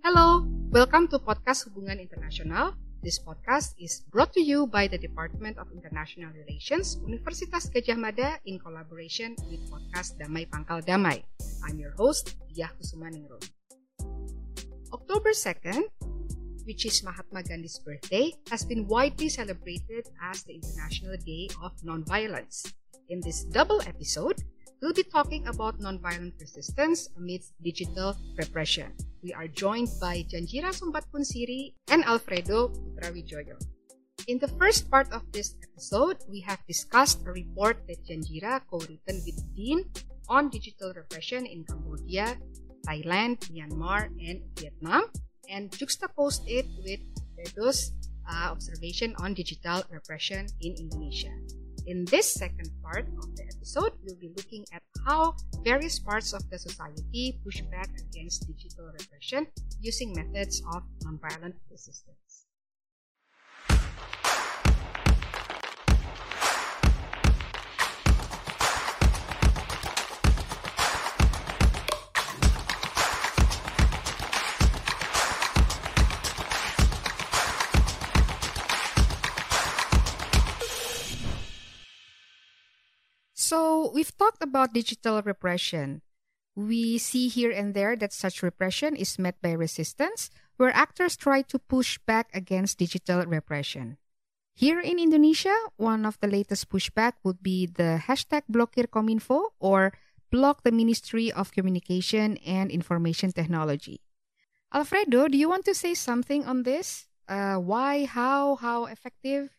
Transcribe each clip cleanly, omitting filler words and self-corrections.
Hello, welcome to Podcast Hubungan Internasional. This podcast is brought to you by the Department of International Relations, Universitas Gadjah Mada in collaboration with podcast Damai Pangkal Damai. I'm your host, Diah Kusumaningrum. October 2nd, which is Mahatma Gandhi's birthday, has been widely celebrated as the International Day of Nonviolence. In this double episode, we'll be talking about nonviolent resistance amidst digital repression. We are joined by Janjira Sumbatpunsiri and Alfredo Putrawijoyo. In the first part of this episode, we have discussed a report that Janjira co-written with Dean on digital repression in Cambodia, Thailand, Myanmar, and Vietnam, and juxtaposed it with Alfredo's observation on digital repression in Indonesia. In this second part of the episode, we'll be looking at how various parts of the society push back against digital repression using methods of nonviolent resistance. So, we've talked about digital repression. We see here and there that such repression is met by resistance, where actors try to push back against digital repression. Here in Indonesia, one of the latest pushback would be the hashtag Blokir Kominfo, or block the Ministry of Communication and Information Technology. Alfredo, do you want to say something on this? Why, how effective?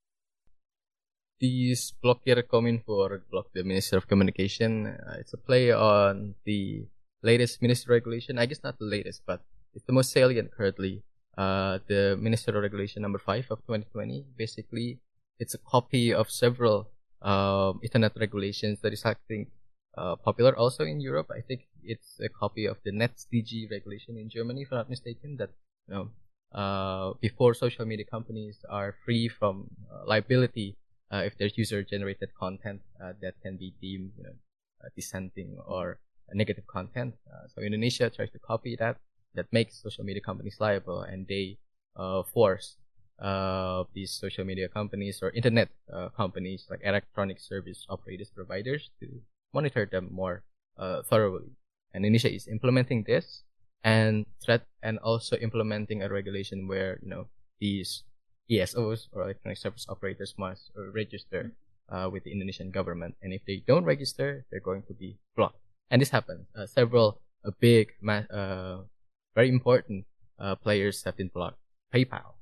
These Blokir Kominfo, or block the Minister of Communication, it's a play on the latest ministry regulation. I guess not the latest, but it's the most salient currently. The Ministerial Regulation number 5 of 2020. Basically, it's a copy of several internet regulations that is, I think, popular also in Europe. I think it's a copy of the NetzDG regulation in Germany, if I'm not mistaken, that before social media companies are free from liability if there's user-generated content that can be deemed dissenting or negative content. So Indonesia tries to copy that makes social media companies liable, and they force these social media companies or internet companies like electronic service operators providers to monitor them more thoroughly. And Indonesia is implementing this and also implementing a regulation where these ESOs, or electronic service operators, must register with the Indonesian government, and if they don't register, they're going to be blocked. And this happens. Several big, very important players have been blocked. PayPal,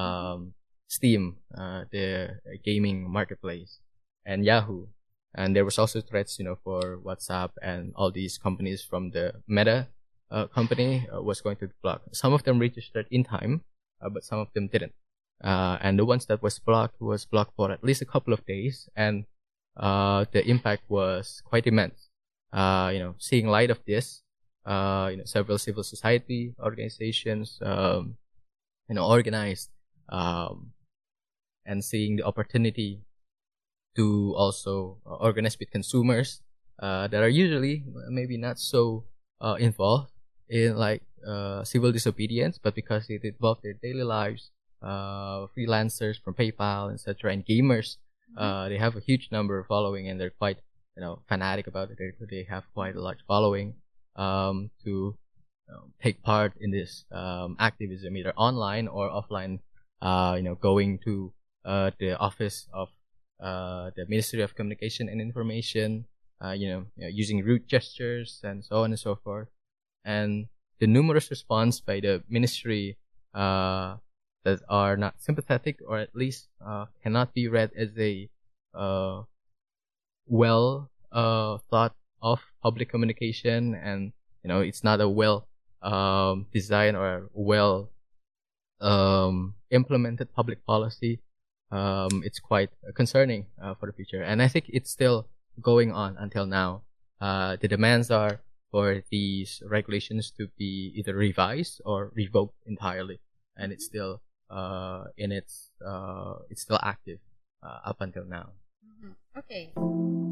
Steam, the gaming marketplace, and Yahoo. And there was also threats, for WhatsApp and all these companies from the Meta company was going to be blocked. Some of them registered in time, but some of them didn't. And the ones that was blocked for at least a couple of days, and the impact was quite immense. Seeing light of this, several civil society organizations, organized, and seeing the opportunity to also organize with consumers that are usually maybe not so involved in civil disobedience, but because it involved their daily lives. Freelancers from PayPal, etc., and gamers, they have a huge number of following, and they're quite, fanatic about it. They have quite a large following to take part in this activism, either online or offline. Going to the office of the Ministry of Communication and Information, using rude gestures and so on and so forth. And the numerous response by the ministry that are not sympathetic, or at least cannot be read as a well thought of public communication, and it's not a well designed or well implemented public policy. It's quite concerning for the future, and I think it's still going on until now. The demands are for these regulations to be either revised or revoked entirely, and it's still it's still active up until now. Okay.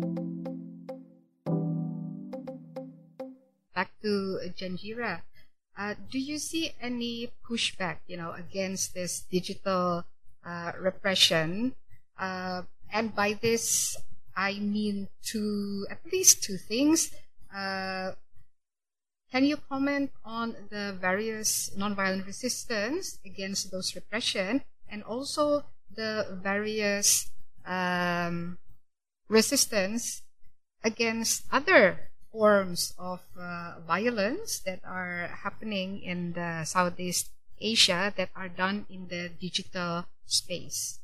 Back to Janjira. Do you see any pushback, against this digital repression? And by this, I mean at least two things. Can you comment on the various nonviolent resistance against those repression, and also the various resistance against other forms of violence that are happening in the Southeast Asia that are done in the digital space?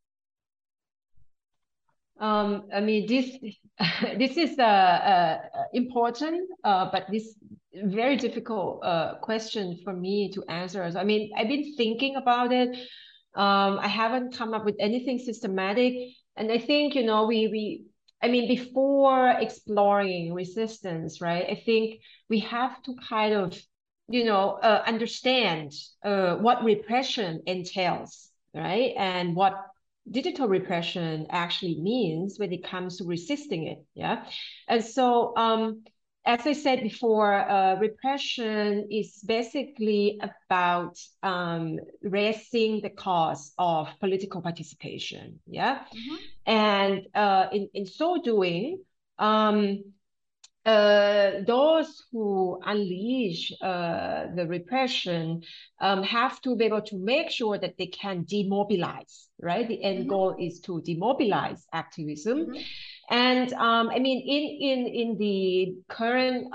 I mean, this is important, but this very difficult question for me to answer. I mean, I've been thinking about it. I haven't come up with anything systematic, and I think I mean, before exploring resistance, right? I think we have to kind of understand what repression entails, right? And what digital repression actually means when it comes to resisting it. Yeah. And so as I said before, repression is basically about raising the cost of political participation. Yeah. Mm-hmm. And in so doing, those who unleash the repression have to be able to make sure that they can demobilize, right? The end goal is to demobilize activism. Mm-hmm. And I mean, in the current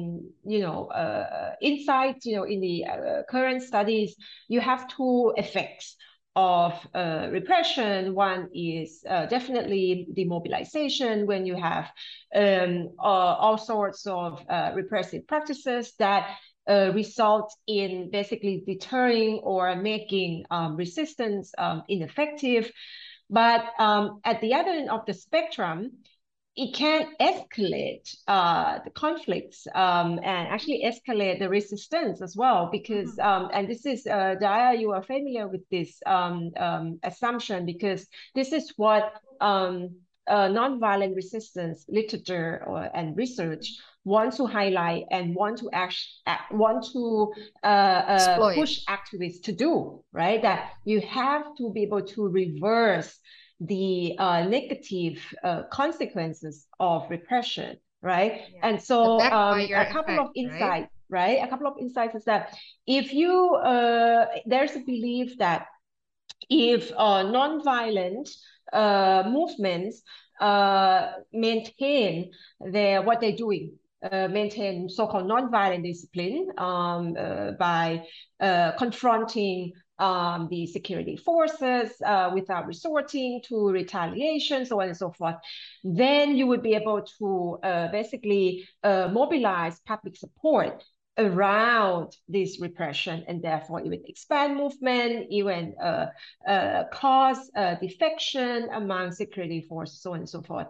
insights, in the current studies, you have two effects of repression. One is definitely demobilization, when you have all sorts of repressive practices that result in basically deterring or making resistance ineffective. But at the other end of the spectrum, it can escalate the conflicts and actually escalate the resistance as well, because and this is Daya, you are familiar with this assumption, because this is what nonviolent resistance literature and research want to highlight and want to push activists to do, right? That you have to be able to reverse the negative consequences of repression, right? Yeah. And so a couple of insights, right? A couple of insights is that if you, there's a belief that if nonviolent movements maintain what they're doing, maintain so-called nonviolent discipline by confronting the security forces without resorting to retaliation, so on and so forth, then you would be able to basically mobilize public support around this repression, and therefore even expand movement, even cause defection among security forces, so on and so forth.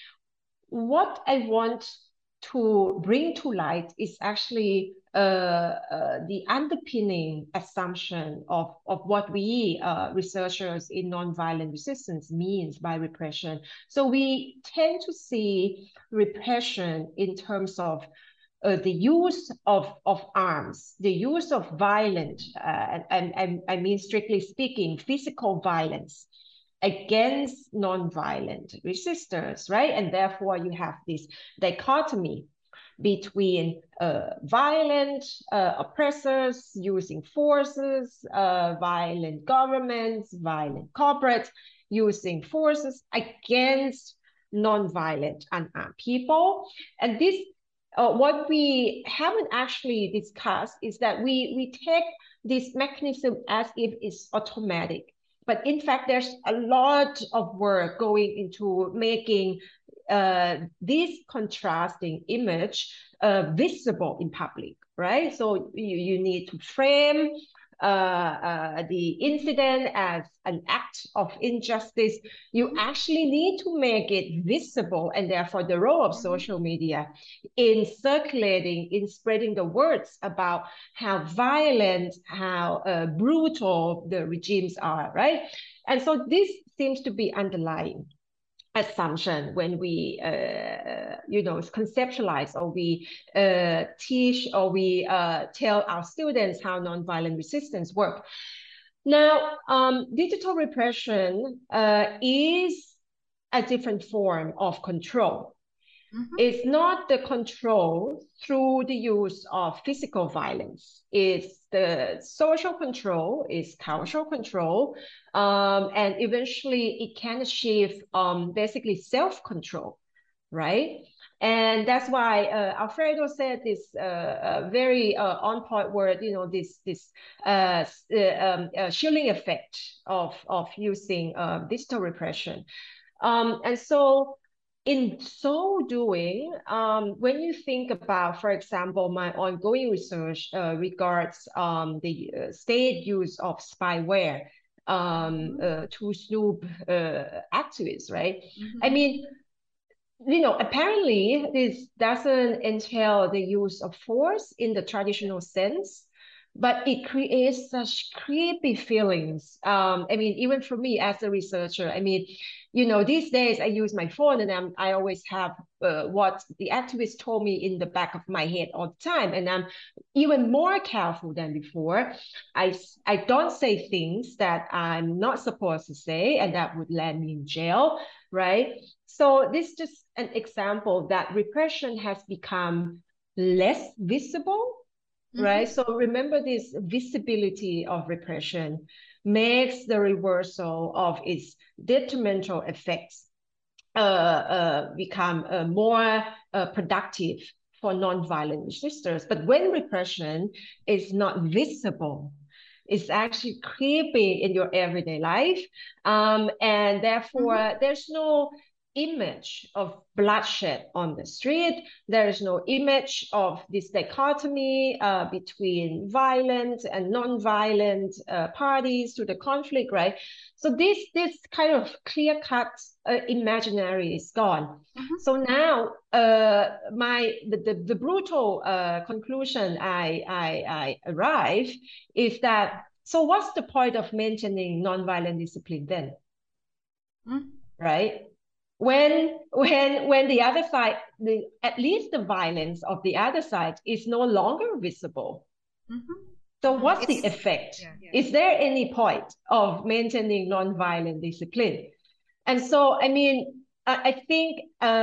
What I want to bring to light is actually the underpinning assumption of what we researchers in nonviolent resistance means by repression. So we tend to see repression in terms of the use of arms, the use of violence, and I mean, strictly speaking, physical violence against nonviolent resistors, right? And therefore you have this dichotomy between violent oppressors using forces, violent governments, violent corporates using forces against nonviolent unarmed people. And this, what we haven't actually discussed is that we take this mechanism as if it's automatic. But in fact, there's a lot of work going into making this contrasting image visible in public, right? So you need to frame the incident as an act of injustice. You actually need to make it visible, and therefore the role of social media in circulating, in spreading the words about how violent, how brutal the regimes are, right? And so this seems to be underlying. assumption when we conceptualize, or we teach, or we tell our students how nonviolent resistance work. Now, digital repression is a different form of control. It's not the control through the use of physical violence. It's the social control, it's cultural control, and eventually it can achieve basically self-control, right? And that's why Alfredo said this very on-point word, this shielding effect of using digital repression. And so in so doing, when you think about, for example, my ongoing research regards the state use of spyware to snoop activists, right? I mean, apparently this doesn't entail the use of force in the traditional sense, but it creates such creepy feelings. I mean, even for me as a researcher, I mean, these days I use my phone, and I always have what the activist told me in the back of my head all the time, and I'm even more careful than before. I don't say things that I'm not supposed to say, and that would land me in jail, right? So this is just an example that repression has become less visible, right? So remember, this visibility of repression makes the reversal of its detrimental effects become more productive for nonviolent resistors. But when repression is not visible, it's actually creeping in your everyday life, and therefore there's no image of bloodshed on the street. There is no image of this dichotomy between violent and non-violent parties to the conflict, right? So this kind of clear-cut imaginary is gone. So now the brutal conclusion I arrive is that, so what's the point of maintaining non-violent discipline then? Right? When the other side, at least the violence of the other side is no longer visible. So what's the effect? Is there any point of maintaining non-violent discipline? And so, I mean, I think,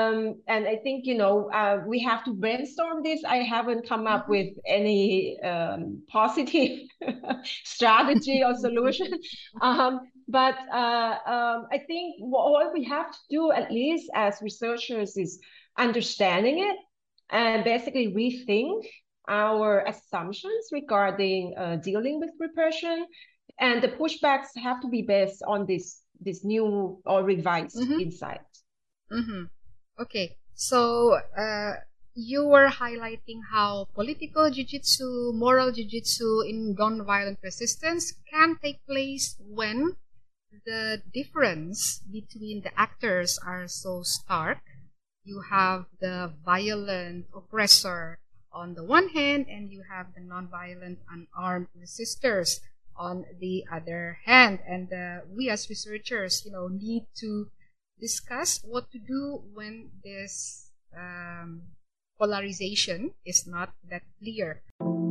we have to brainstorm this. I haven't come up with any positive strategy or solution. But I think what we have to do, at least as researchers, is understanding it and basically rethink our assumptions regarding dealing with repression. And the pushbacks have to be based on this new or revised insight. Okay, so you were highlighting how political jiu-jitsu, moral jiu-jitsu in non-violent resistance can take place when the difference between the actors are so stark. You have the violent oppressor on the one hand, and you have the non-violent unarmed resistors on the other hand. And we as researchers, need to discuss what to do when this polarization is not that clear.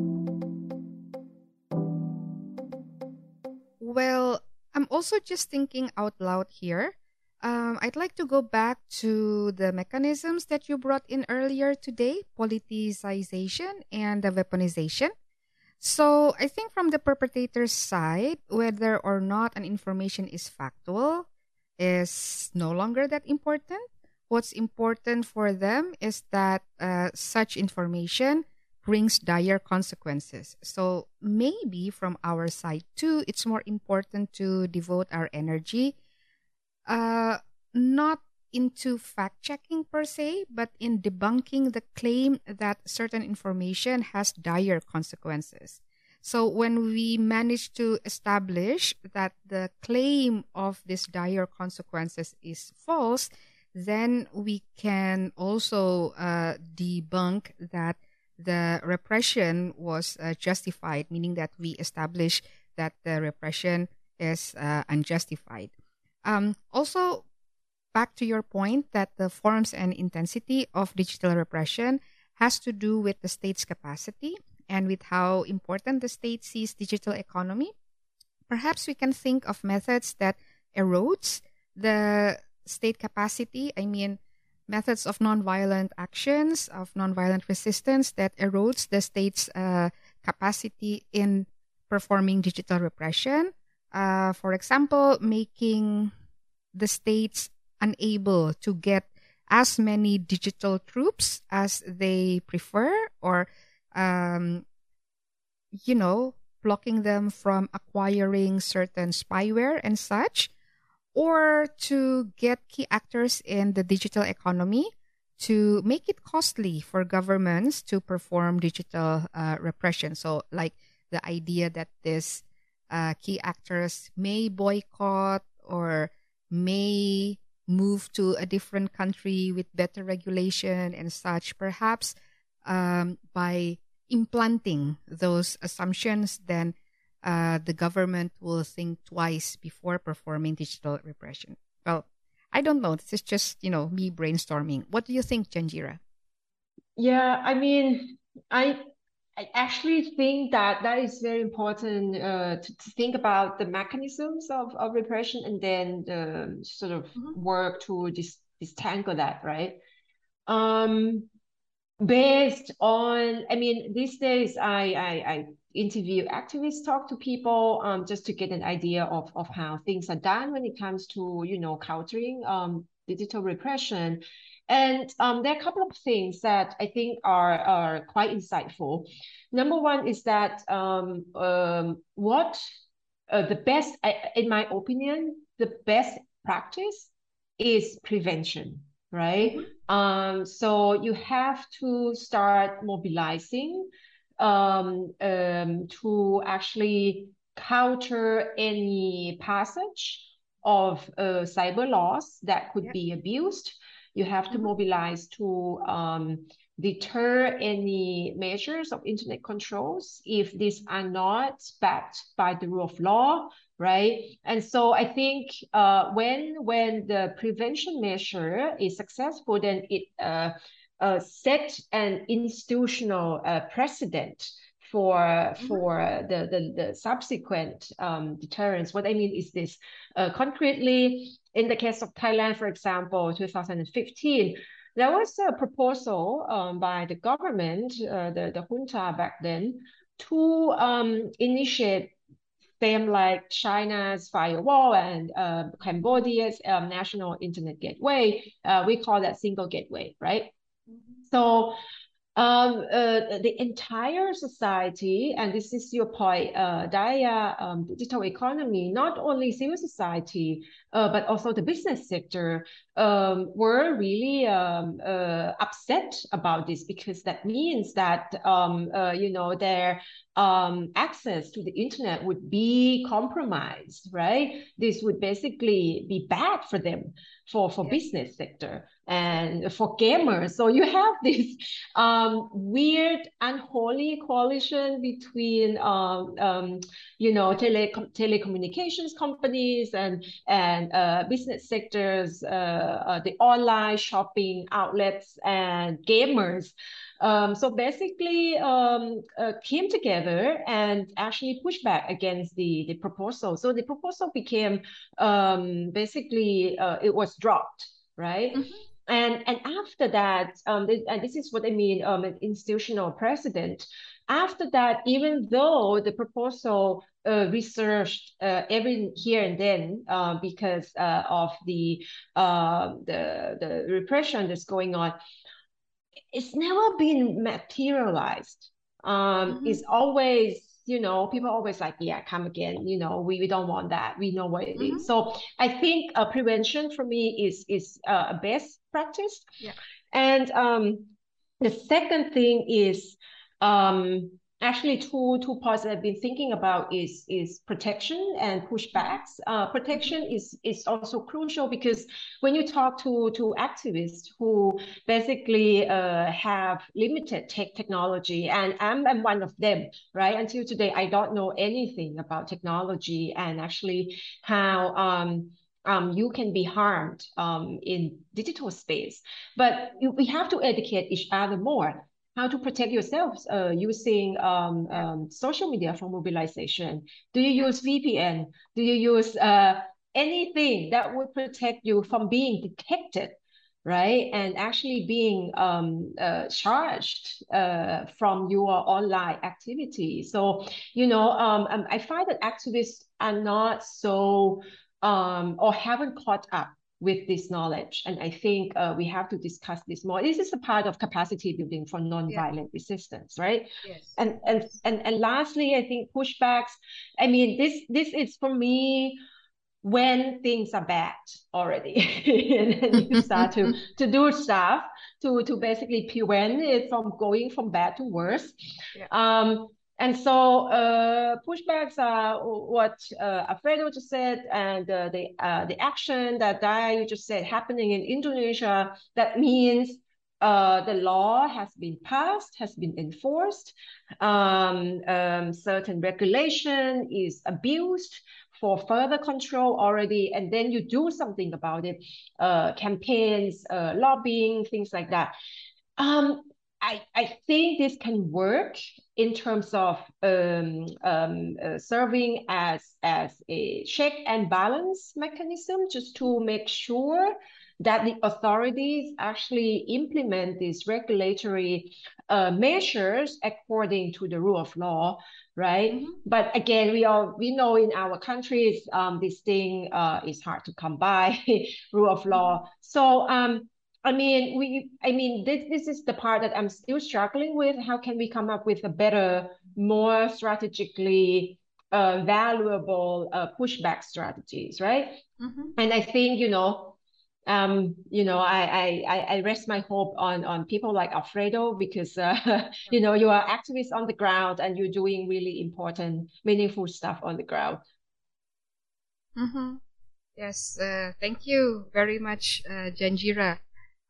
Well, I'm also just thinking out loud here. I'd like to go back to the mechanisms that you brought in earlier today, politicization and the weaponization. So I think from the perpetrator's side, whether or not an information is factual is no longer that important. What's important for them is that such information brings dire consequences. So maybe from our side too, it's more important to devote our energy not into fact-checking per se, but in debunking the claim that certain information has dire consequences. So when we manage to establish that the claim of these dire consequences is false, then we can also debunk that the repression was justified, meaning that we establish that the repression is unjustified. Also, back to your point that the forms and intensity of digital repression has to do with the state's capacity and with how important the state sees digital economy, perhaps we can think of methods that erodes the state capacity. I mean, methods of nonviolent actions, of nonviolent resistance that erodes the state's capacity in performing digital repression. For example, making the states unable to get as many digital troops as they prefer, or, blocking them from acquiring certain spyware and such, or to get key actors in the digital economy to make it costly for governments to perform digital repression. So, like the idea that these key actors may boycott or may move to a different country with better regulation and such, perhaps by implanting those assumptions, then the government will think twice before performing digital repression. Well, I don't know. This is just, me brainstorming. What do you think, Janjira? Yeah, I mean, I actually think that is very important to think about the mechanisms of repression and then sort of work to disentangle that, right? Based on, I mean, these days I interview activists, talk to people just to get an idea of how things are done when it comes to, countering digital repression. And there are a couple of things that I think are quite insightful. Number one is that the best, in my opinion, the best practice is prevention, right? So you have to start mobilizing to actually counter any passage of cyber laws that could be abused. You have to mobilize to deter any measures of internet controls if these are not backed by the rule of law, right? And so I think when the prevention measure is successful, then it set an institutional precedent for the subsequent deterrence. What I mean is this: concretely, in the case of Thailand, for example, 2015. There was a proposal by the government, the junta back then, to initiate same like China's firewall and Cambodia's national internet gateway. We call that single gateway, right? So the entire society, and this is your point, Daya, digital economy, not only civil society, but also the business sector were really upset about this, because that means that, their access to the internet would be compromised, right? This would basically be bad for them, for business sector and for gamers. So you have this weird, unholy coalition between, telecommunications companies and business sectors, the online shopping outlets and gamers. So basically came together and actually pushed back against the proposal. So the proposal became basically it was dropped, right? And after that, and this is what I mean, an institutional precedent. After that, even though the proposal researched every here and then because of the repression that's going on, it's never been materialized. It's always, people always like, yeah, come again. We don't want that. We know what it is. So I think prevention for me is a best practice. Yeah. And the second thing is actually two parts that I've been thinking about is protection and pushbacks. Protection is also crucial, because when you talk to activists who basically have limited technology, and I'm one of them, right? Until today, I don't know anything about technology and actually how you can be harmed in digital space. But we have to educate each other more how to protect yourselves using social media for mobilization. Do you use VPN? Do you use anything that would protect you from being detected, right? And actually being charged from your online activity. So, I find that activists are not so or haven't caught up with this knowledge. And I think we have to discuss this more. This is a part of capacity building for nonviolent resistance, right? Yes. And lastly, I think pushbacks. I mean, this is for me when things are bad already, and then you start to do stuff to basically prevent it from going from bad to worse. And so pushbacks are what Alfredo just said, and the action that you just said happening in Indonesia. That means the law has been passed, has been enforced. Certain regulation is abused for further control already, and then you do something about it. Campaigns, lobbying, things like that. I think this can work in terms of serving as a check and balance mechanism, just to make sure that the authorities actually implement these regulatory measures according to the rule of law, right? But again, we know in our countries this thing is hard to come by, rule of law. So this is the part that I'm still struggling with. How can we come up with a better, more strategically valuable pushback strategies, right? And I think, I rest my hope on people like Alfredo, because you are activists on the ground and you're doing really important, meaningful stuff on the ground. Yes, thank you very much, Janjira.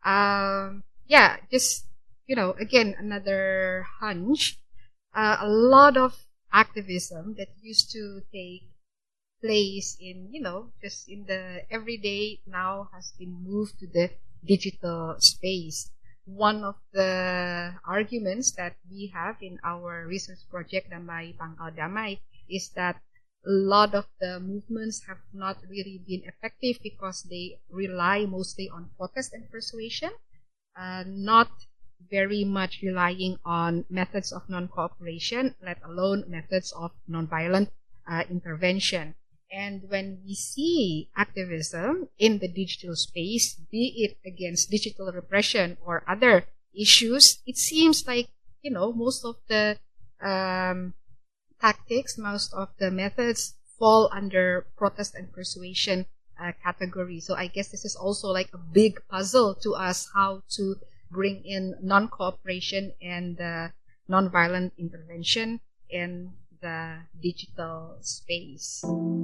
Just, again, another hunch. A lot of activism that used to take place in, just in the everyday now has been moved to the digital space. One of the arguments that we have in our research project, Damai Pangkal Damai, is that a lot of the movements have not really been effective because they rely mostly on protest and persuasion, not very much relying on methods of non-cooperation, let alone methods of non-violent intervention. And when we see activism in the digital space, be it against digital repression or other issues, it seems like, most of the tactics, most of the methods fall under protest and persuasion category. So I guess this is also like a big puzzle to us, how to bring in non-cooperation and non-violent intervention in the digital space.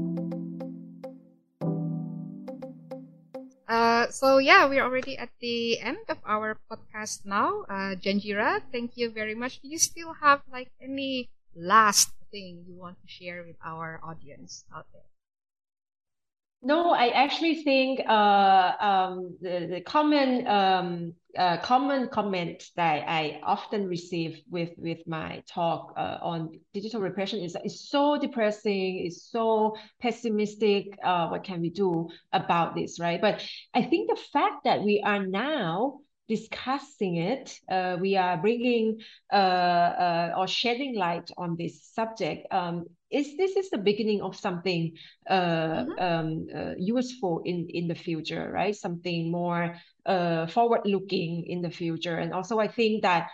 We're already at the end of our podcast now. Janjira, thank you very much. Do you still have like any last thing you want to share with our audience out there? No, I actually think the common comment that I often receive with my talk on digital repression is so depressing, is so pessimistic. What can we do about this, right? But I think the fact that we are now discussing it, we are bringing or shedding light on this subject. This is the beginning of something useful in the future, right? Something more forward-looking in the future. And also, I think that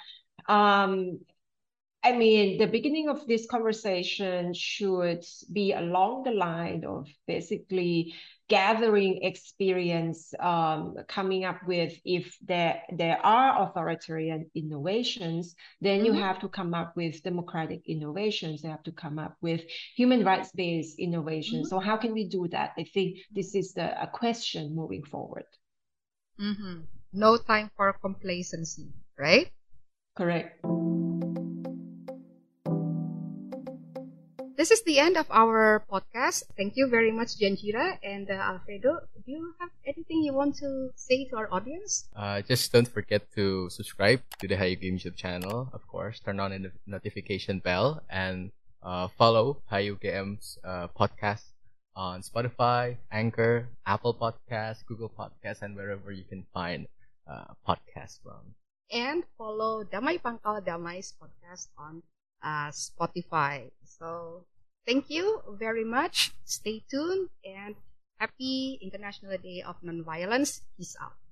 the beginning of this conversation should be along the line of basically gathering experience, coming up with, if there are authoritarian innovations, then you have to come up with democratic innovations. You have to come up with human rights-based innovations. So how can we do that? I think this is a question moving forward. No time for complacency, right? Correct. this is the end of our podcast. Thank you very much, Janjira and Alfredo. Do you have anything you want to say to our audience? Just don't forget to subscribe to the Hayu Games YouTube channel. Of course, turn on the notification bell and follow Hayu Games podcast on Spotify, Anchor, Apple Podcasts, Google Podcasts, and wherever you can find podcasts from. And follow Damai Pangkal Damai's podcast on Spotify. So thank you very much. Stay tuned and happy International Day of Nonviolence. Peace out.